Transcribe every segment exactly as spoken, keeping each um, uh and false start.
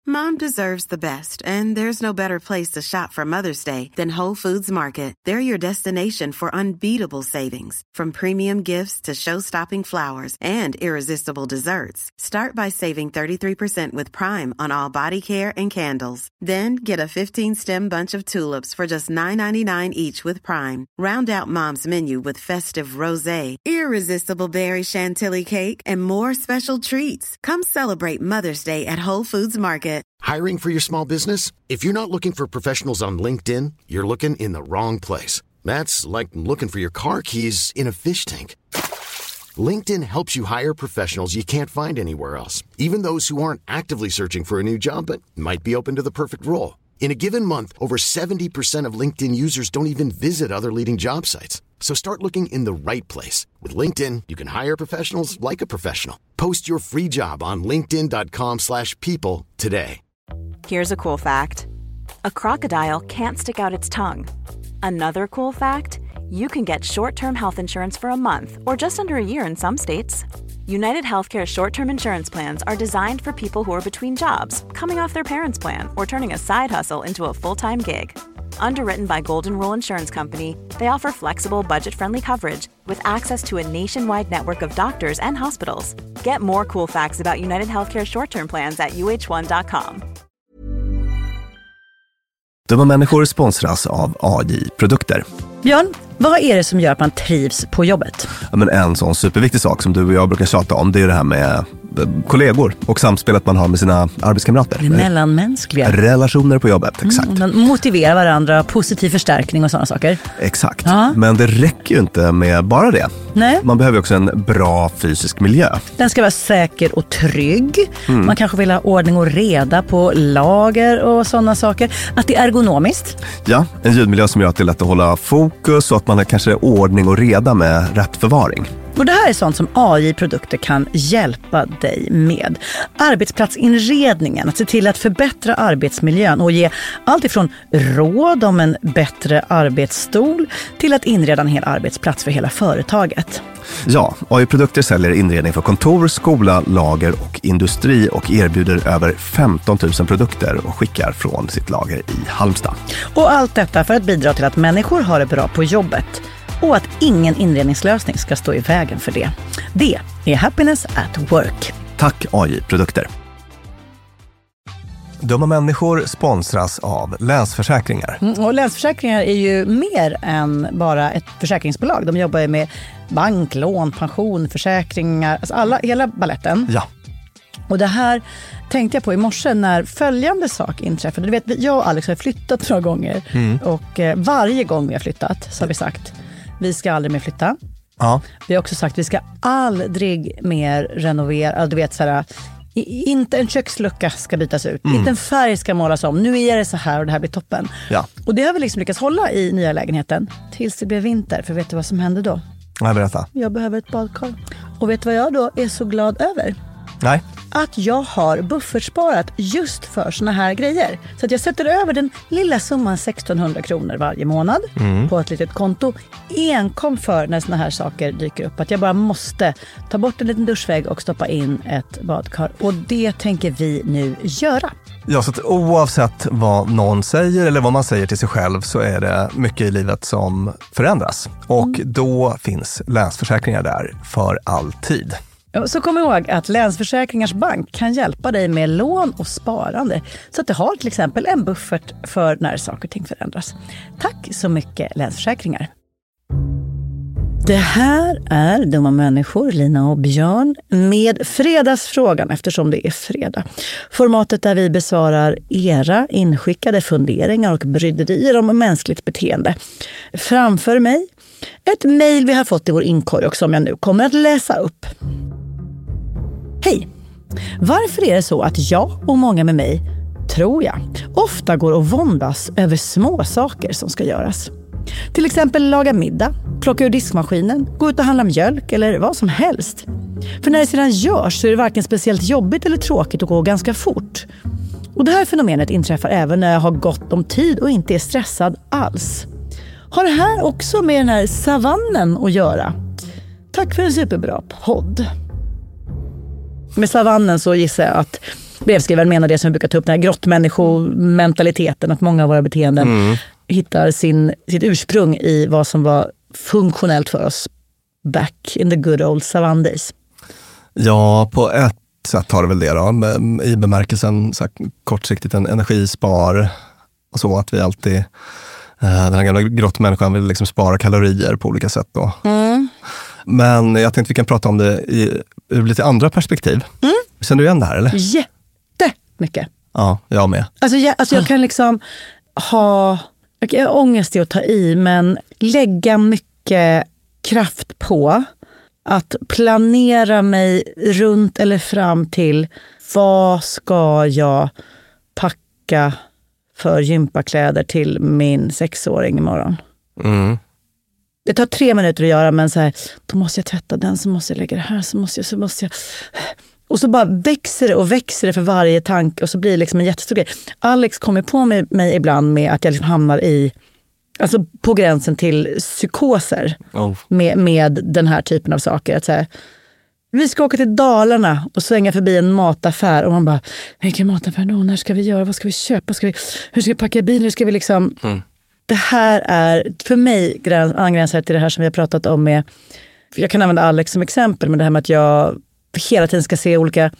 Mom deserves the best, and there's no better place to shop for Mother's Day than Whole Foods Market. They're your destination for unbeatable savings, from premium gifts to show-stopping flowers and irresistible desserts. Start by saving thirty-three percent with Prime on all body care and candles. Then get a fifteen-stem bunch of tulips for just nine ninety-nine each with Prime. Round out Mom's menu with festive rosé, irresistible berry chantilly cake, and more special treats. Come celebrate Mother's Day at Whole Foods Market. Hiring for your small business? If you're not looking for professionals on LinkedIn, you're looking in the wrong place. That's like looking for your car keys in a fish tank. LinkedIn helps you hire professionals you can't find anywhere else, even those who aren't actively searching for a new job but might be open to the perfect role. In a given month, over seventy percent of LinkedIn users don't even visit other leading job sites. So start looking in the right place. With LinkedIn, you can hire professionals like a professional. Post your free job on linkedin.com slash people today. Here's a cool fact. A crocodile can't stick out its tongue. Another cool fact, you can get short-term health insurance for a month or just under a year in some states. United Healthcare short-term insurance plans are designed for people who are between jobs, coming off their parents' plan, or turning a side hustle into a full-time gig. Underwritten by Golden Rule Insurance Company, they offer flexible, budget-friendly coverage with access to a nationwide network of doctors and hospitals. Get more cool facts about United Healthcare short-term plans at u h one dot com. Dumma människor sponsras av A J-produkter. Björn, vad är det som gör att man trivs på jobbet? Ja, men en sån superviktig sak som du och jag brukar tjata om, det är det här med kollegor och samspelet man har med sina arbetskamrater. Det mellanmänskliga. Relationer på jobbet, exakt. Mm, man motiverar varandra, positiv förstärkning och sådana saker. Exakt, ja. Men det räcker ju inte med bara det. Nej. Man behöver också en bra fysisk miljö. Den ska vara säker och trygg. Mm. Man kanske vill ha ordning och reda på lager och sådana saker. Att det är ergonomiskt. Ja, en ljudmiljö som gör att det är lätt att hålla fokus och att man har kanske ordning och reda med rätt förvaring. Och det här är sånt som A J-produkter kan hjälpa dig med. Arbetsplatsinredningen, att se till att förbättra arbetsmiljön och ge allt ifrån råd om en bättre arbetsstol till att inreda en hel arbetsplats för hela företaget. Ja, A J-produkter säljer inredning för kontor, skola, lager och industri och erbjuder över femton tusen produkter och skickar från sitt lager i Halmstad. Och allt detta för att bidra till att människor har det bra på jobbet. Och att ingen inredningslösning ska stå i vägen för det. Det är Happiness at Work. Tack A J-produkter. Dumma människor sponsras av Länsförsäkringar. Mm, och Länsförsäkringar är ju mer än bara ett försäkringsbolag. De jobbar ju med bank, lån, pension, försäkringar. Alltså alla, hela balletten. Ja. Och det här tänkte jag på i morse när följande sak inträffade. Du vet, jag och Alex har flyttat några gånger. Mm. Och eh, varje gång vi har flyttat så har vi sagt vi ska aldrig mer flytta. Ja. Vi har också sagt vi ska aldrig mer renovera. Du vet så här, inte en kökslucka ska bytas ut. Mm. Inte en färg ska målas om. Nu är det så här och det här blir toppen. Ja. Och det har vi liksom lyckats hålla i nya lägenheten tills det blev vinter. För vet du vad som hände då? Nej, berätta. Jag behöver ett badkar. Och vet du vad jag då är så glad över? Nej. Att jag har buffertsparat just för såna här grejer. Så att jag sätter över den lilla summan sextonhundra kronor varje månad mm. på ett litet konto. Enkom för när såna här saker dyker upp. Att jag bara måste ta bort en liten duschvägg och stoppa in ett badkar. Och det tänker vi nu göra. Ja, så att oavsett vad någon säger eller vad man säger till sig själv så är det mycket i livet som förändras. Och mm. då finns Länsförsäkringar där för alltid. Så kom ihåg att Länsförsäkringars bank kan hjälpa dig med lån och sparande så att du har till exempel en buffert för när saker och ting förändras. Tack så mycket Länsförsäkringar. Det här är Dumma människor, Lina och Björn, med fredagsfrågan eftersom det är fredag. Formatet där vi besvarar era inskickade funderingar och bryderier om mänskligt beteende. Framför mig ett mejl vi har fått i vår inkorg och som jag nu kommer att läsa upp. Hej! Varför är det så att jag och många med mig, tror jag, ofta går och våndas över små saker som ska göras? Till exempel laga middag, plocka ur diskmaskinen, gå ut och handla mjölk eller vad som helst. För när det sedan görs så är det varken speciellt jobbigt eller tråkigt att gå ganska fort. Och det här fenomenet inträffar även när jag har gott om tid och inte är stressad alls. Har det här också med den här savannen att göra? Tack för en superbra podd. Med savannen så gissar jag att brevskrivaren menar det som vi brukar ta upp, den här grottmänniskomentaliteten, att många av våra beteenden mm. hittar sin, sitt ursprung i vad som var funktionellt för oss back in the good old savann days. Ja, på ett sätt har det väl det då, i bemärkelsen så här, kortsiktigt en energispar och så, att vi alltid, eh, den här gamla grottmänniskan vill liksom spara kalorier på olika sätt då. Mm. Men jag tänkte vi kan prata om det i, ur lite andra perspektiv. Mm. Känner du igen det här eller? Jättemycket. Ja, jag med. Alltså jag, alltså jag kan liksom ha, jag har ångest i att ta i, men lägga mycket kraft på att planera mig runt eller fram till vad ska jag packa för gympakläder till min sexåring imorgon. Mm. Det tar tre minuter att göra, men så här, då måste jag tvätta den, så måste jag lägga det här, så måste jag, så måste jag. Och så bara växer det och växer det för varje tanke, och så blir det liksom en jättestor grej. Alex kommer på mig, mig ibland med att jag liksom hamnar i, alltså på gränsen till psykoser oh. med, med den här typen av saker. Att så här, vi ska åka till Dalarna och svänga förbi en mataffär, och man bara, vilken mataffär då? När ska vi göra? Vad ska vi köpa? Ska vi, hur ska vi packa bilen? Hur ska vi liksom... Mm. Det här är för mig angränsat till det här som vi har pratat om med, jag kan använda Alex som exempel, men det här med att jag hela tiden ska se olika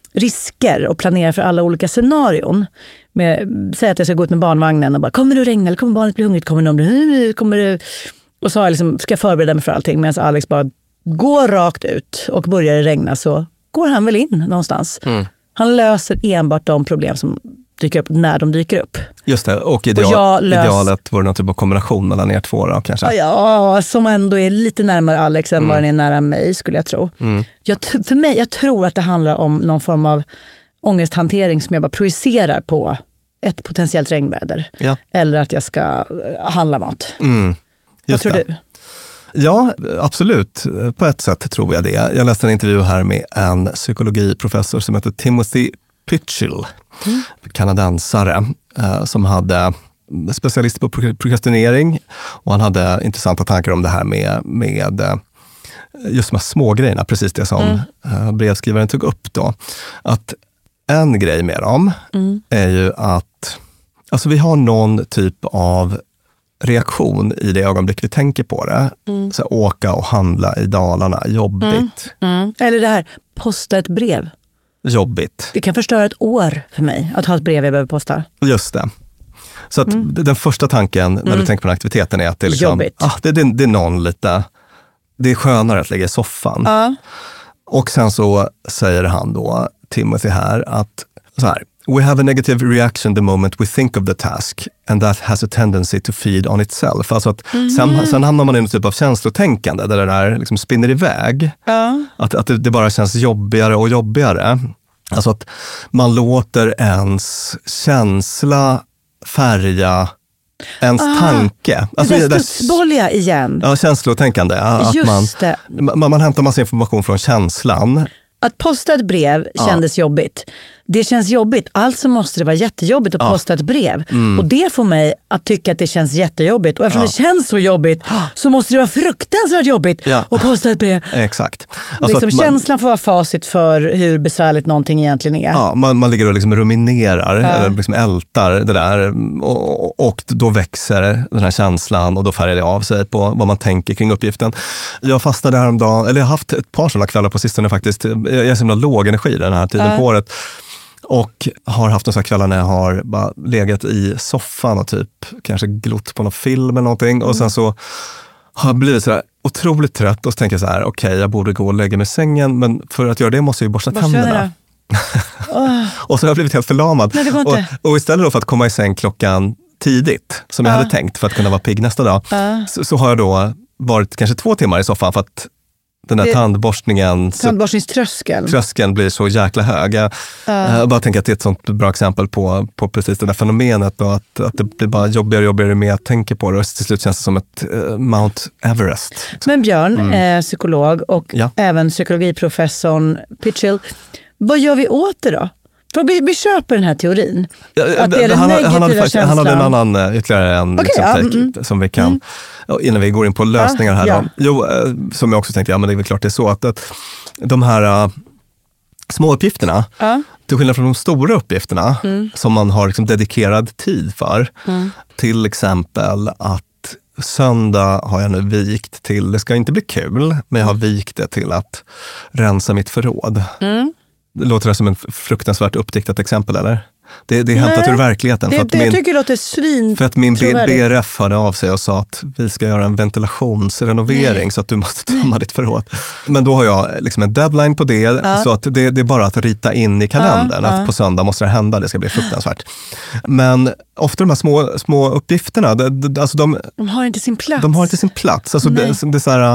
risker och planera för alla olika scenarion. Med, säg att jag ska gå ut med barnvagnen och bara, kommer du regna eller kommer barnet bli hungrigt? Kommer du, kommer du? Och så har jag liksom, ska jag förbereda mig för allting, medan Alex bara går rakt ut, och börjar det regna så går han väl in någonstans. Mm. Han löser enbart de problem som dyker upp när de dyker upp. Just det, och, ideal, och lös... idealet vore någon typ av kombination mellan er två då, kanske? Ja, som ändå är lite närmare Alex än mm. vad den är nära mig, skulle jag tro. Mm. Jag, för mig, jag tror att det handlar om någon form av ångesthantering som jag bara projicerar på ett potentiellt regnväder. Ja. Eller att jag ska handla mat. Mm. Vad tror det. du? Ja, absolut. På ett sätt tror jag det. Jag läste en intervju här med en psykologiprofessor som heter Timothy Pychyl, mm. kanadensare, eh, som hade specialist på prokrastinering, och han hade intressanta tankar om det här med, med just de här små grejerna, precis det som mm. eh, brevskrivaren tog upp då. Att en grej med dem mm. är ju att alltså vi har någon typ av reaktion i det ögonblick vi tänker på det. Mm. Så åka och handla i Dalarna, jobbigt. Mm. Mm. Eller det här, posta ett brev. Jobbigt. Det kan förstöra ett år för mig att ha ett brev jag behöver posta. Just det. Så att mm. den första tanken när mm. du tänker på den aktiviteten är att det är liksom, ah, det, det, det är någon lite, det är skönare att lägga i soffan. Uh. Och sen så säger han då, Timothy här, att så här, we have a negative reaction the moment we think of the task, and that has a tendency to feed on itself. Alltså att mm. sen, sen hamnar man i en typ av känslotänkande där det där liksom spinner iväg. Ja. Att, att det, det bara känns jobbigare och jobbigare. Alltså att man låter ens känsla färga ens ah, tanke. Alltså det där studsbolja igen. Ja, känslotänkande. Att Just man, det. Man, man hämtar massa information från känslan. Att posta ett brev kändes ja. jobbigt. Det känns jobbigt, alltså måste det vara jättejobbigt att ja. posta ett brev. Mm. Och det får mig att tycka att det känns jättejobbigt. Och eftersom ja. det känns så jobbigt så måste det vara fruktansvärt jobbigt ja. att posta ett brev. Exakt. Alltså liksom, man, känslan får vara facit för hur besvärligt någonting egentligen är. Ja, man, man ligger och liksom ruminerar, ja. eller liksom ältar det där. Och, och då växer den här känslan, och då färgar det av sig på vad man tänker kring uppgiften. Jag fastnade häromdagen, eller jag har haft ett par sådana kvällar på sistone faktiskt. Jag är så himla låg energi den här tiden ja. på året. Och har haft några kvällar när jag har bara legat i soffan och typ kanske glott på någon film eller någonting. Mm. Och sen så har jag blivit sådär otroligt trött, och så tänker jag så här, okej, okay, jag borde gå och lägga mig i sängen, men för att göra det måste jag ju borsta Borsta tänderna. oh. Och så har jag blivit helt förlamad. Nej, det går inte. Och, och istället då för att komma i säng klockan tidigt, som jag uh. hade tänkt för att kunna vara pigg nästa dag, uh. så, så har jag då varit kanske två timmar i soffan för att den här det, tandborstningen, tandborstningströskeln tröskeln blir så jäkla hög. Jag, uh. jag bara tänker att det är ett sånt bra exempel på, på precis det där fenomenet, och att, att det blir bara jobbigare och jobbigare med att tänka på det, och till slut känns det som ett uh, Mount Everest. Men Björn, mm. eh, psykolog och ja. även psykologiprofessorn Pychyl, vad gör vi åt det då? För vi, vi köper den här teorin. Ja, att det är den han, negativa han hade, känslan. Han hade en annan, ytterligare en okay, liksom, ja, take, mm, som vi kan, mm. innan vi går in på lösningar här. Ja, ja. Jo, som jag också tänkte, ja men det är väl klart det är så att, att de här små uppgifterna, Ja. till skillnad från de stora uppgifterna mm. som man har liksom dedikerad tid för. Mm. Till exempel att söndag har jag nu vikt till, det ska inte bli kul, men jag har vikt det till att rensa mitt förråd. Mm. Låter det som en fruktansvärt uppdiktat exempel, eller? Det, det är hämtat ur verkligheten. Det, för att det min, jag tycker låter svin. För att min B R F hörde av sig och sa att vi ska göra en ventilationsrenovering Nej. Så att du måste tömma ditt förråd. Men då har jag liksom en deadline på det, ja. Så att det, det är bara att rita in i kalendern ja, att ja. På söndag måste det hända, det ska bli fruktansvärt. Men ofta de här små, små uppgifterna, det, det, alltså de, de har inte sin plats. De har inte sin plats. Alltså det, det är så här...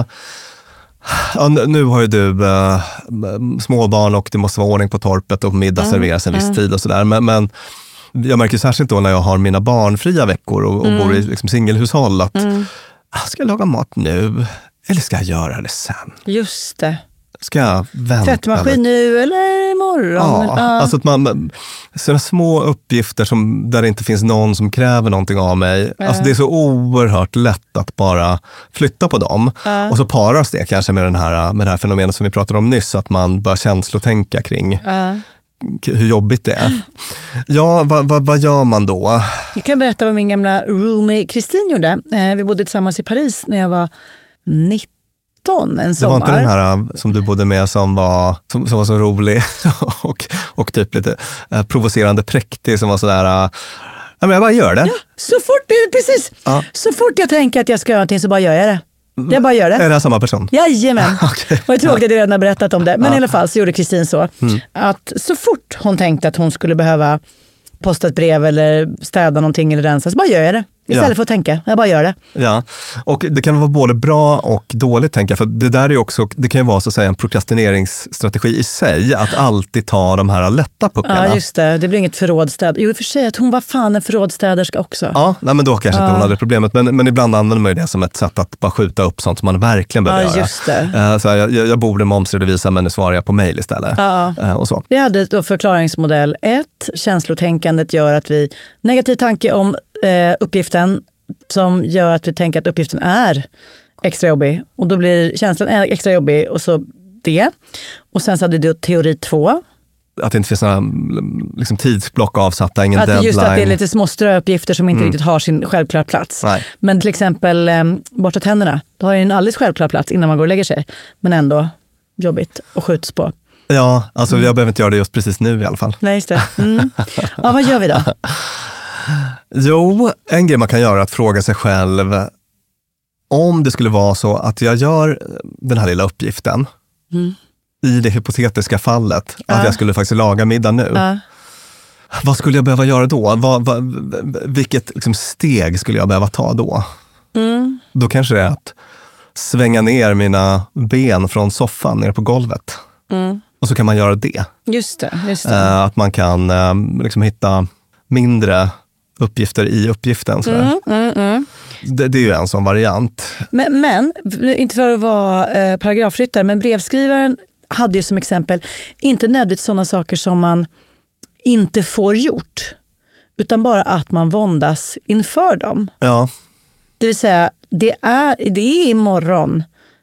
Ja, nu har ju du äh, småbarn och det måste vara ordning på torpet och middag mm. serveras en viss mm. tid och sådär. Men, men jag märker särskilt då när jag har mina barnfria veckor och, och mm. bor i liksom, singelhushåll att mm. ska jag laga mat nu eller ska jag göra det sen? Just det. Ska jag vänta? Tvättmaskin nu eller imorgon? Ja, ja. Alltså att man, sådana små uppgifter som, där det inte finns någon som kräver någonting av mig. Ja. Alltså det är så oerhört lätt att bara flytta på dem. Ja. Och så paras det kanske med, den här, med det här fenomenet som vi pratade om nyss, att man bör känslotänka kring ja. Hur jobbigt det är. Ja, vad, vad, vad gör man då? Jag kan berätta vad min gamla roomie Kristin gjorde. Vi bodde tillsammans i Paris när jag var nitton. En det var inte den här som du bodde med som var, som, som var så rolig och, och typ lite eh, provocerande präktig som var sådär, äh, ja men jag bara gör det. Ja, så fort, precis. Ja. Så fort jag tänker att jag ska göra någonting så bara gör jag det. Jag bara gör det. Är det samma person? Jajamän. Okay. Och jag tror att jag redan har berättat om det. Men ja. I alla fall så gjorde Kristin så. Mm. Att så fort hon tänkte att hon skulle behöva posta ett brev eller städa någonting eller rensa så bara gör jag det. Istället ja. För att tänka, jag bara gör det. Ja, och det kan vara både bra och dåligt tänka, för det där är också, det kan ju vara så att säga en prokrastineringsstrategi i sig, att alltid ta de här lätta puckarna. Ja, just det. Det blir inget förrådstäd. Jo, i och för sig att hon var fan en förrådstäderska också. Ja, nej, men då kanske ja. Inte hon hade problemet, men, men ibland använder man ju det som ett sätt att bara skjuta upp sånt som man verkligen behöver ja, göra. Just det. Uh, så här, jag, jag borde momsredovisa, men nu svarar jag på mejl istället. Ja. Uh, och så. Vi hade då förklaringsmodell ett. Känslotänkandet gör att vi, negativ tanke om eh, uppgiften som gör att vi tänker att uppgiften är extra jobbig. Och då blir känslan extra jobbig och så det. Och sen så hade du teori två. Att det inte finns några liksom, tidsblock avsatta, ingen att deadline. Just att det är lite små ströuppgifter som inte mm. riktigt har sin självklara plats. Nej. Men till exempel eh, borsta tänderna. Då har ju en alldeles självklar plats innan man går och lägger sig. Men ändå jobbigt och skjuts på. Ja, alltså mm. jag behöver inte göra det just precis nu i alla fall. Nej, just det. Mm. Ja, vad gör vi då? Jo, en grej man kan göra är att fråga sig själv om det skulle vara så att jag gör den här lilla uppgiften mm. i det hypotetiska fallet ja. Att jag skulle faktiskt laga middag nu. Ja. Vad skulle jag behöva göra då? Vad, vad, vilket liksom, steg skulle jag behöva ta då? Mm. Då kanske det är att svänga ner mina ben från soffan ner på golvet. Mm. Och så kan man göra det. Just det, just det. Uh, att man kan uh, liksom hitta mindre uppgifter i uppgiften. Mm, mm, mm. Det, det är ju en sån variant. Men, men inte för att vara eh, paragrafryttare, men brevskrivaren hade ju som exempel inte nödvändigt sådana saker som man inte får gjort, utan bara att man våndas inför dem. Ja. Det vill säga, det är, det är imorgon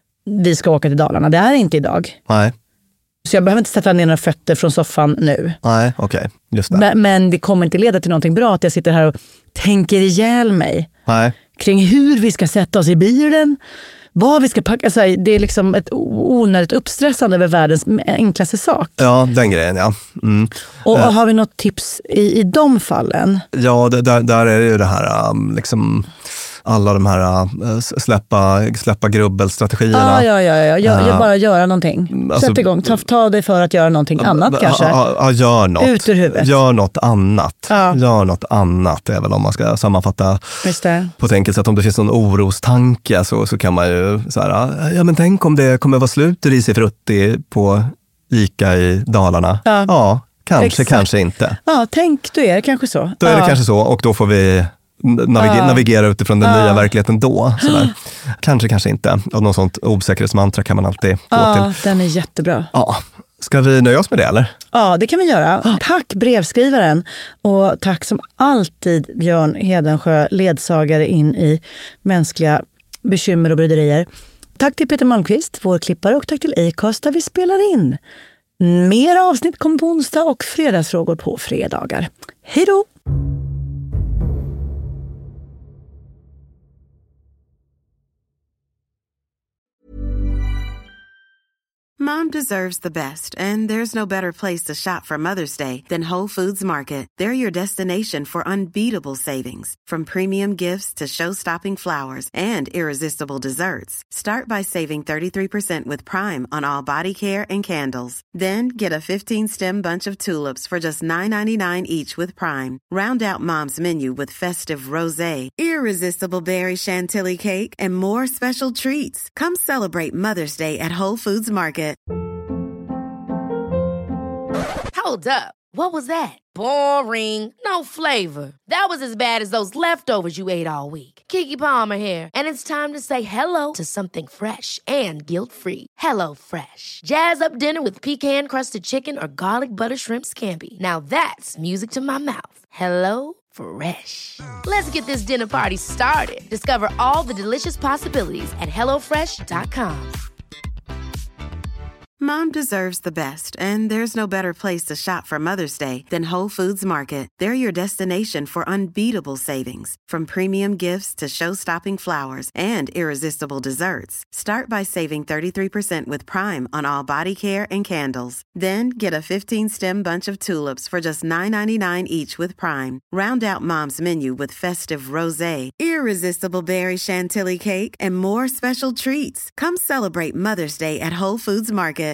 vi ska åka till Dalarna. Det är inte idag. Nej. Så jag behöver inte sätta ner några fötter från soffan nu. Nej, okej. Okay. Just det. Men, men det kommer inte leda till någonting bra att jag sitter här och tänker ihjäl mig. Nej. Kring hur vi ska sätta oss i bilen, vad vi ska packa. Alltså, det är liksom ett onödigt uppstressande över världens enklaste sak. Ja, den grejen, ja. Mm. Och, och har vi något tips i, i de fallen? Ja, det, där, där är det ju det här um, liksom... alla de här äh, släppa, släppa grubbelstrategierna. Ah, ja, ja, ja. Jag, jag bara göra någonting. Sätt alltså, igång. Ta, ta dig för att göra någonting äh, annat äh, kanske. Ja, äh, gör något. Ut ur huvudet. Gör något annat. Ah. Gör något annat. Det är väl om man ska sammanfatta Just det. På ett enkelt sätt. Om det finns någon orostanke så, så kan man ju så här, ja men tänk om det kommer vara slut Risifrutti på Ica i Dalarna. Ja, ja kanske, Exakt. kanske inte. Ja, tänk, då är det kanske så. Då är ja. det kanske så och då får vi Navigera, uh. navigera utifrån den uh. nya verkligheten då. Sådär. Kanske, kanske inte. Och något sånt osäkerhetsmantra kan man alltid gå uh, till. Den är jättebra. Ja. Ska vi nöja oss med det eller? Ja, det kan vi göra. Uh. Tack brevskrivaren. Och tack som alltid Björn Hedensjö, ledsagare in i mänskliga bekymmer och bryderier. Tack till Peter Malmqvist, vår klippare, och tack till Acast där vi spelar in. Mer avsnitt kommer på onsdag och fredagsfrågor på fredagar. Hej då! Mom deserves the best, and there's no better place to shop for Mother's Day than Whole Foods Market. They're your destination for unbeatable savings, from premium gifts to show-stopping flowers and irresistible desserts. Start by saving thirty-three percent with Prime on all body care and candles. Then get a fifteen-stem bunch of tulips for just nine ninety-nine each with Prime. Round out Mom's menu with festive rosé, irresistible berry chantilly cake, and more special treats. Come celebrate Mother's Day at Whole Foods Market. Hold up. What was that? Boring. No flavor. That was as bad as those leftovers you ate all week. Keke Palmer here, and it's time to say hello to something fresh and guilt-free. Hello Fresh. Jazz up dinner with pecan-crusted chicken or garlic butter shrimp scampi. Now that's music to my mouth. Hello Fresh. Let's get this dinner party started. Discover all the delicious possibilities at hello fresh dot com. Mom deserves the best, and there's no better place to shop for Mother's Day than Whole Foods Market. They're your destination for unbeatable savings, from premium gifts to show-stopping flowers and irresistible desserts. Start by saving thirty-three percent with Prime on all body care and candles. Then get a fifteen-stem bunch of tulips for just nine ninety-nine each with Prime. Round out Mom's menu with festive rosé, irresistible berry chantilly cake, and more special treats. Come celebrate Mother's Day at Whole Foods Market.